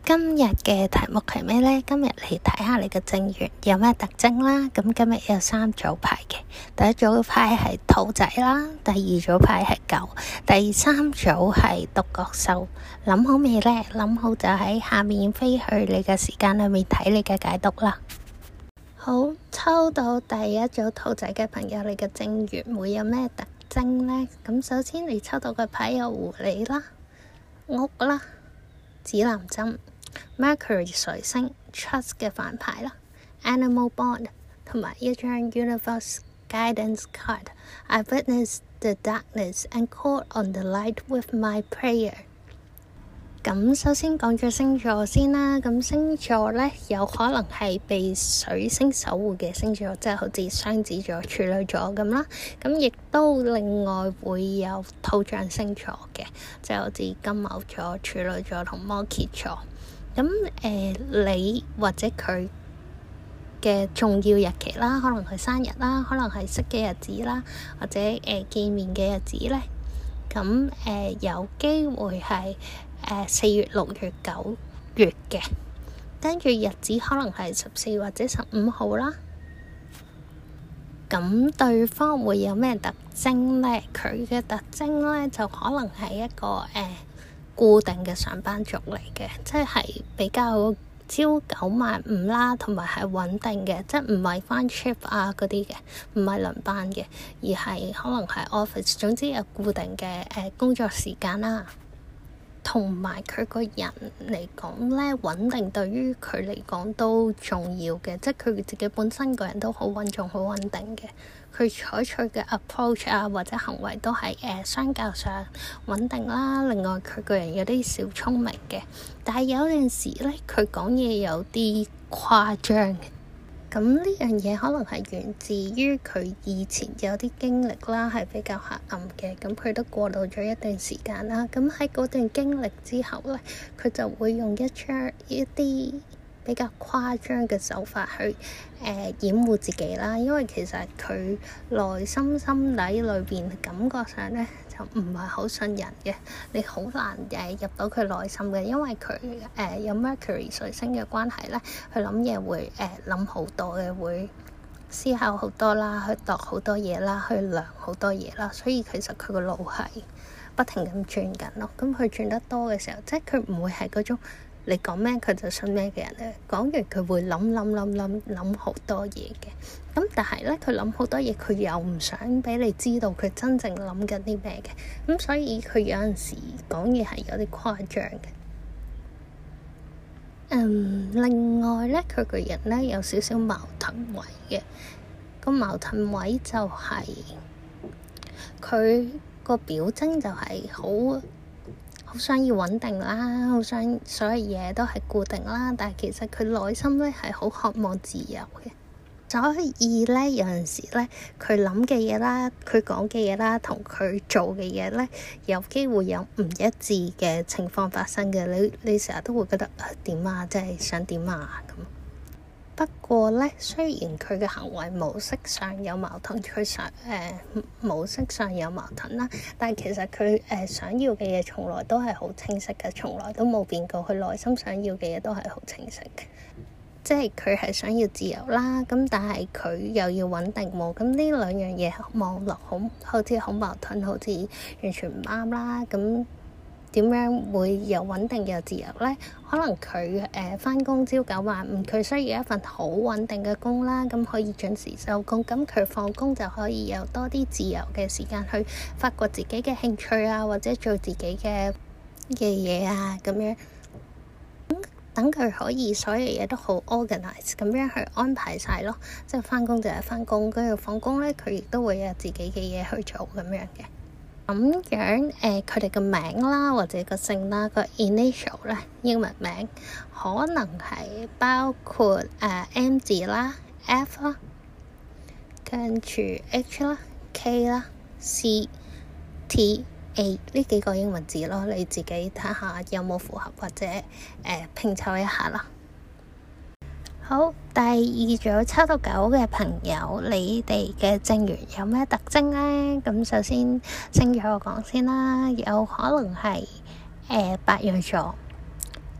今日嘅題目係咩呢？今日嚟睇下你嘅正月有咩特徵啦。咁今日有3組牌嘅，第一組牌係兔仔啦，第二組牌係狗，第三組係獨角獸。諗好未呢？諗好就喺下面飛去你嘅時間裏面睇你嘅解讀啦。好，抽到第一組兔仔嘅朋友，你嘅正月會有咩特徵呢？咁首先你抽到嘅牌有狐狸啦、屋啦、指南針、Mercury 水星、Trust 嘅反牌啦、Animal Bond 同埋一張 Universe Guidance Card。I witness the darkness and call on the light with my prayer。咁首先講咗星座先啦。咁星座呢，有可能係被水星守護嘅星座，即係好似雙子座、處女座咁啦。咁亦都另外會有土象星座嘅，即係好似金牛座、處女座同摩羯座。咁你或者佢嘅重要日期啦，可能係生日啦，可能係識嘅日子啦，或者見面嘅日子咧，咁有機會係4月、6月、9月嘅，跟住日子可能係14或者15號啦。咁對方會有咩特徵咧？佢嘅特徵咧就可能係一個固定嘅上班族嚟嘅，即係比較朝九晚五啦，同埋係穩定嘅，即係唔係翻 shift 啊嗰啲嘅，唔係輪班嘅，而係可能係 office， 總之有固定嘅工作時間啦。同埋佢個人嚟講咧，穩定對於佢嚟講都重要嘅，即係佢自己本身個人都好穩重、好穩定嘅。佢採取嘅 approach 啊，或者行為都係相較上穩定啦。另外佢個人有啲小聰明嘅，但係有陣時咧，佢講嘢有啲誇張嘅。咁呢樣嘢可能係源自於佢以前有啲經歷啦，係比較黑暗嘅。咁佢都過渡咗一段時間啦。咁喺嗰段經歷之後咧，佢就會用一啲比較誇張嘅手法去掩護自己啦。因為其實佢內心底裏邊感覺上咧就唔係好信人嘅，你好難入到佢內心嘅，因為佢有 Mercury 水星嘅關係咧，佢諗嘢會諗好多嘅，會思考好多啦，去度好多嘢啦，去量好多嘢啦，所以其實佢個腦係不停咁轉緊咯。咁佢轉得多嘅時候，即係佢唔會係嗰種你講咩佢就信咩嘅人咧。講完佢會諗好多嘢嘅。咁但係咧，佢諗好多嘢，佢又唔想俾你知道佢真正諗緊啲咩嘅。咁所以佢有陣時講嘢係有啲誇張嘅。另外咧，佢個人咧有少少矛盾位嘅。個矛盾位就係佢個表徵就係好想要穩定啦，好想所有嘢都係固定啦，但係其實佢內心咧係好渴望自由嘅。所以咧，有陣時咧，佢諗嘅嘢啦，佢講嘅嘢啦，同佢做嘅嘢咧，有機會有唔一致嘅情況發生嘅。你成日都會覺得點啊，即係想點啊咁。不過咧，雖然佢嘅行為模式上有矛盾，模式上有矛盾啦，但係其實佢想要嘅嘢從來都係好清晰嘅，從來都冇變過。佢內心想要嘅嘢都係好清晰嘅。即係佢係想要自由啦，咁但係佢又要穩定喎，咁呢兩樣嘢望落好似好矛盾，好似完全唔啱啦。咁點樣會又穩定又自由咧？可能佢返工朝九晚五，佢需要一份好穩定嘅工啦，咁可以準時收工，咁佢放工就可以有多啲自由嘅時間去發掘自己嘅興趣啊，或者做自己嘅嘢啊咁樣。等佢可以所有嘢都好 organize 咁樣去安排晒咯，即係返工就係返工，跟住放工咧，佢亦都會有自己嘅嘢去做咁樣嘅。咁樣佢哋嘅名啦，或者個姓啦，個 initial 咧，英文名可能係包括M 字啦、F 啦，跟住 H 啦、K 啦、C、T、A 呢幾個英文字咯，你自己睇下有冇符合，或者拼湊一下啦。好，第二組抽到9嘅朋友，你哋嘅正月有咩特徵呢？咁首先星座我講先啦，有可能係白羊座、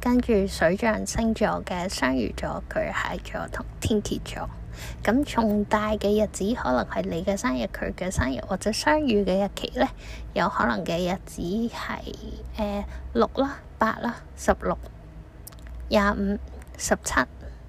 跟住水象星座嘅雙魚座、巨蟹座同天蠍座。咁重大嘅日子可能係你嘅生日、佢嘅生日，或者相遇嘅日期呢，有可能嘅日子係6啦、8啦、16、25、17。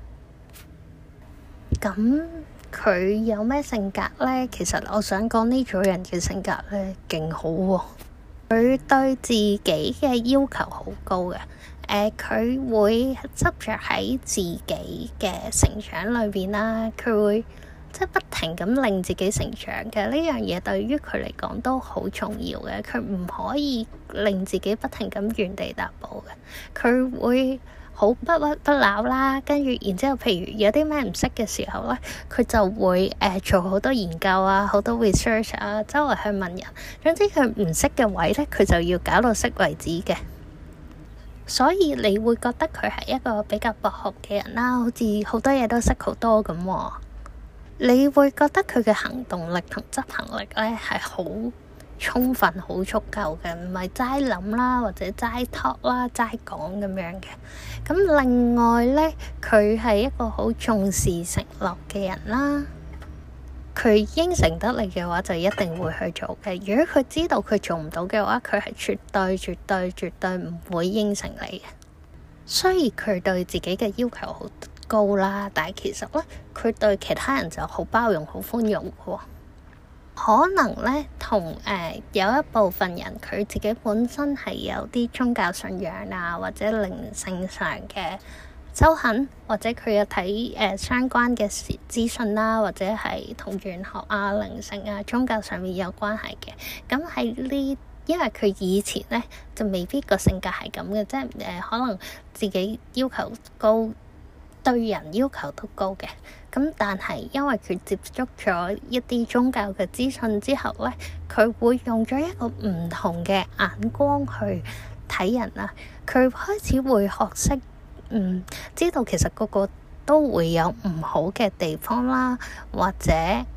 咁佢有咩性格呢？其實我想講呢組人嘅性格呢，勁好喎。佢對自己嘅要求好高嘅。佢會執着喺自己嘅成長裏邊啦，佢會即係不停咁令自己成長嘅。呢樣嘢對於佢嚟講都好重要嘅。佢唔可以令自己不停咁原地踏步嘅。佢會好不屈不撓啦，跟住然之後，譬如有啲咩唔識嘅時候咧，佢就會做好多研究啊，好多 research 啊，周圍去問人。總之佢唔識嘅位咧，佢就要搞到識為止嘅。所以你會覺得佢係一個比較博學嘅人啦，好似好多嘢都識好多咁喎。你會覺得佢嘅行動力同執行力咧係好充分、好足夠嘅，唔係齋諗啦，或者齋 talk 啦、齋講咁樣嘅。咁另外咧，佢係一個好重視承諾嘅人啦。佢應承得你嘅話，就一定會去做嘅。如果佢知道佢做唔到嘅話，佢係絕對唔會應承你嘅。雖然佢對自己嘅要求好高啦，但係其實咧，佢對其他人就好包容、好寬容嘅。可能咧，同有一部分人佢自己本身係有啲宗教信仰啊，或者靈性上嘅修行，或者佢有睇相關嘅資訊啦，或者係同玄學啊、靈性啊、宗教上面有關係嘅。咁喺呢，因為佢以前咧就未必個性格係咁嘅，即係可能自己要求高，對人要求都高嘅。咁但係因為佢接觸咗一啲宗教嘅資訊之後咧，佢會用咗一個唔同嘅眼光去睇人啊。佢開始會學識知道其實個個都會有唔好嘅地方啦，或者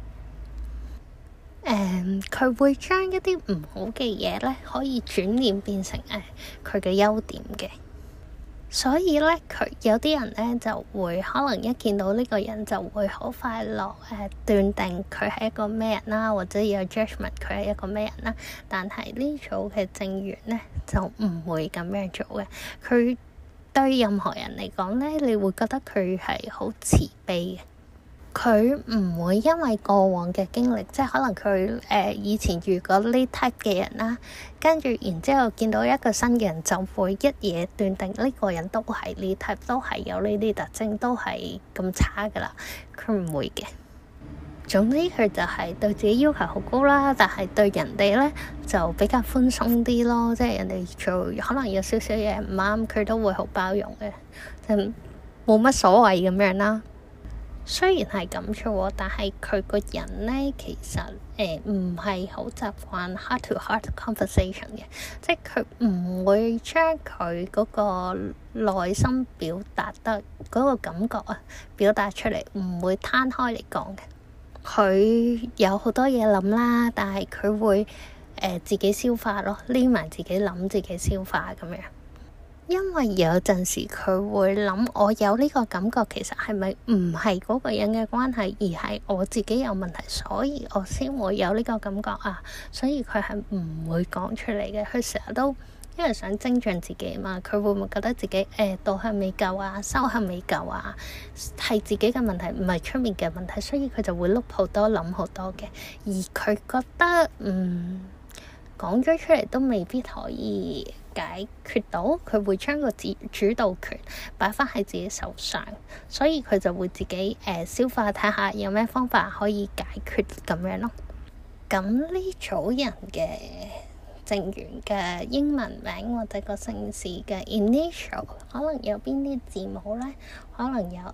佢會將一啲唔好嘅嘢咧，可以轉念變成佢嘅優點嘅。所以咧，佢有啲人咧就會可能一見到呢個人就會好快樂斷定佢係一個咩人啦，或者有 judgment 佢係一個咩人啦。但係呢組嘅正緣咧就唔會咁樣做嘅。佢對任何人嚟講咧，你會覺得佢係好慈悲嘅。佢唔會因為過往嘅經歷，即係可能佢以前遇過呢 type 嘅人啦，跟住然之後見到一個新嘅人，就會一嘢斷定呢個人都係呢 type，都係有呢啲特徵，都係咁差噶啦。佢唔會嘅。總之佢就係對自己要求好高啦，但係對人哋咧就比較寬鬆啲咯，即係人哋做可能有少少嘢唔啱，佢都會好包容嘅，就冇乜所謂咁樣啦。雖然係咁啫，但係佢個人咧其實唔係好習慣 heart to heart conversation 嘅，即係佢唔會將佢嗰個內心表達得嗰個感覺表達出嚟，唔會攤開嚟講嘅。佢有好多嘢諗啦，但係佢會自己消化咯，匿埋自己諗，自己消化咁樣。因為有陣時佢會諗，我有呢個感覺，其實係咪唔係嗰個人嘅關係，而係我自己有問題，所以我先會有呢個感覺啊。所以佢係唔會講出嚟嘅。佢成日都因為想精進自己嘛，佢會唔會覺得自己道行未夠啊，修行未夠啊，係自己嘅問題，唔係出面嘅問題，所以佢就會碌好多，諗好多嘅。而佢覺得講咗出嚟都未必可以解決到，佢會將個主導權擺返喺自己手上，所以佢就會自己消化，睇下有咩方法可以解決咁樣咯。咁呢組人嘅正緣嘅英文名或者個姓氏嘅 initial 可能有邊啲字母咧？可能有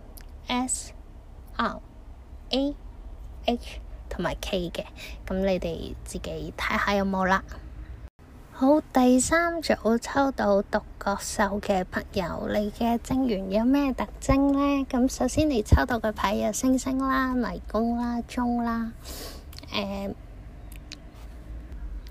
M、S、R、A、H 同埋 K 嘅，咁你哋自己睇下有冇啦。好，第三組抽到獨角獸嘅朋友，你嘅正緣有咩特徵呢？咁首先你抽到嘅牌有星星啦、迷宮啦、鐘啦、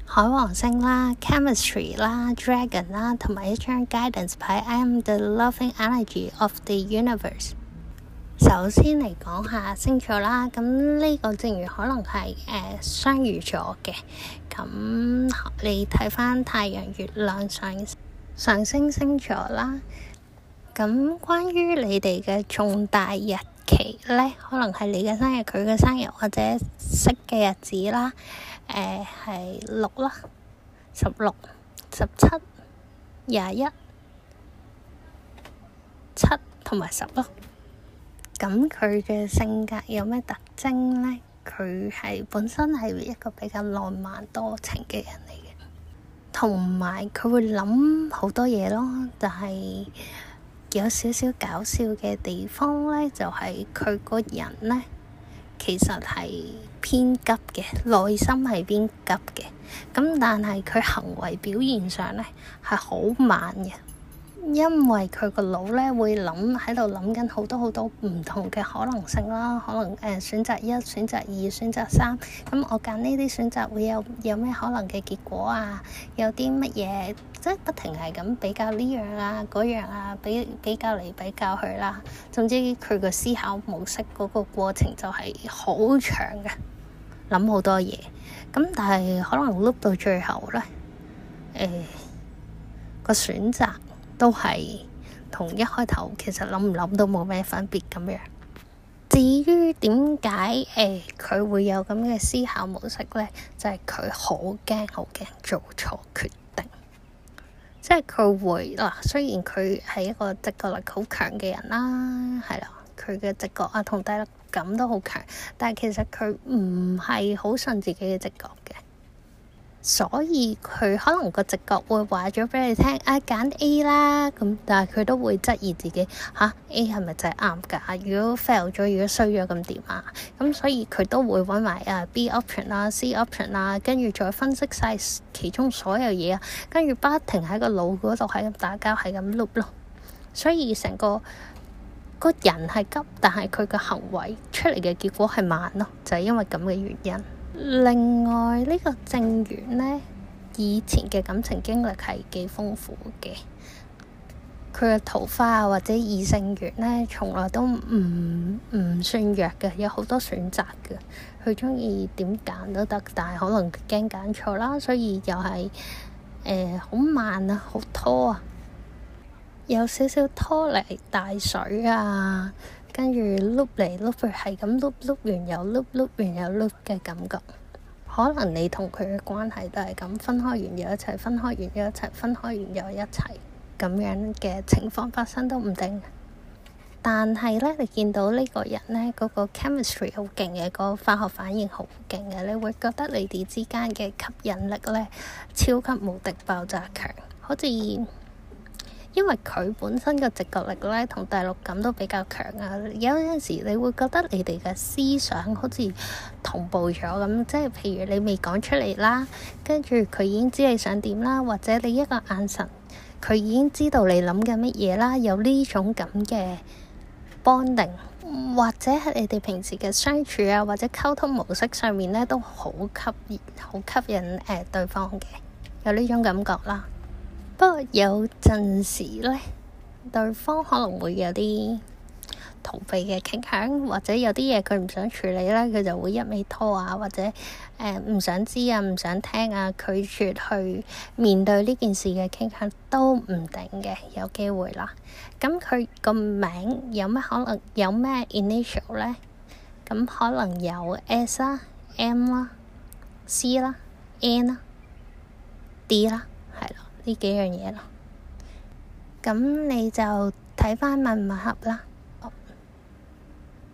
海王星啦、chemistry 啦、dragon 啦，同埋一張 guidance 牌 I am the loving energy of the universe。首先嚟講下星座啦，咁呢個正如可能係雙魚座嘅，咁你睇返太陽、月亮、上升星座啦。咁關於你哋嘅重大日期咧，可能係你嘅生日、佢嘅生日或者識嘅日子啦，係6啦、16、17、21、7同埋10咯。咁佢嘅性格有咩特徵咧？佢係本身係一個比較浪漫多情嘅人嚟嘅，同埋佢會諗好多嘢咯。但係有少少搞笑嘅地方咧，就係佢個人咧，其實係偏急嘅，內心係偏急嘅。咁但係佢行為表現上咧係好慢嘅。因為佢個腦咧會喺度諗緊好多唔同嘅可能性啦，可能選擇1、選擇2、選擇3，咁我揀呢啲選擇會有咩可能嘅結果啊？有啲乜嘢，即係不停係咁比較呢樣啊嗰樣啊，比較嚟比較去啦。總之佢個思考模式嗰個過程就係好長嘅，諗好多嘢。咁但係可能碌到最後咧，個選擇都係同一開頭其實諗唔諗都冇咩分別咁樣。至於點解佢會有咁嘅思考模式咧，就係佢好驚做錯決定。即係佢會雖然佢係一個直覺力好強嘅人啦，係啦，佢嘅直覺啊同第六感都好強，但係其實佢唔係好信自己嘅直覺嘅。所以佢可能個直覺會話咗俾你聽，揀 A 啦，咁但係佢都會質疑自己A 係咪真係啱㗎？如果 fail 咗，如果衰咗咁點啊？咁所以佢都會揾埋B option 啦、C option 啦，跟住再分析晒其中所有嘢啊，跟住不停喺個腦嗰度係咁打交，係咁 loop 咯。所以成個人係急，但係佢嘅行為出嚟嘅結果係慢咯，就係因為咁嘅原因。另外呢個正緣呢，以前嘅感情經歷係幾豐富嘅，佢嘅桃花或者異性緣呢，從來都唔算弱嘅，有好多選擇嘅。佢鍾意點揀都得，但係可能驚揀錯啦，所以又係好慢啊，好拖啊，有少少拖泥帶水啊。跟住碌嚟碌去，係咁碌完又碌完又碌嘅感覺。可能你同佢嘅關係都係咁，分開完又一齊，分開完又一齊，分開完又一齊，咁樣嘅情況發生都唔定。但係咧，你見到呢個人咧，嗰個 chemistry 好勁嘅，個化學反應好勁嘅，你會覺得你哋之間嘅吸引力咧，超級無敵爆炸強，好似因為佢本身嘅直覺力咧同第六感都比較強啊，有陣時你會覺得你哋嘅思想好似同步咗咁，即係譬如你未講出嚟啦，跟住佢已經知你想點啦，或者你一個眼神，佢已經知道你諗緊乜嘢啦，有呢種咁嘅 bonding，或者係你哋平時嘅相處啊，或者溝通模式上面咧都好吸引對方嘅，有呢種感覺啦。不過有陣時咧，對方可能會有啲逃避嘅傾向，或者有啲嘢佢唔想處理咧，佢就會一味拖啊，或者唔想知啊、唔想聽啊，拒絕去面對呢件事嘅傾向都唔定嘅，有機會啦。咁佢個名有咩可能有咩 initial 咧？咁可能有 S 啦、M 啦、C 啦、N 啦、D 啦，係咯。呢幾樣嘢咯，咁你就睇返吻唔吻合啦。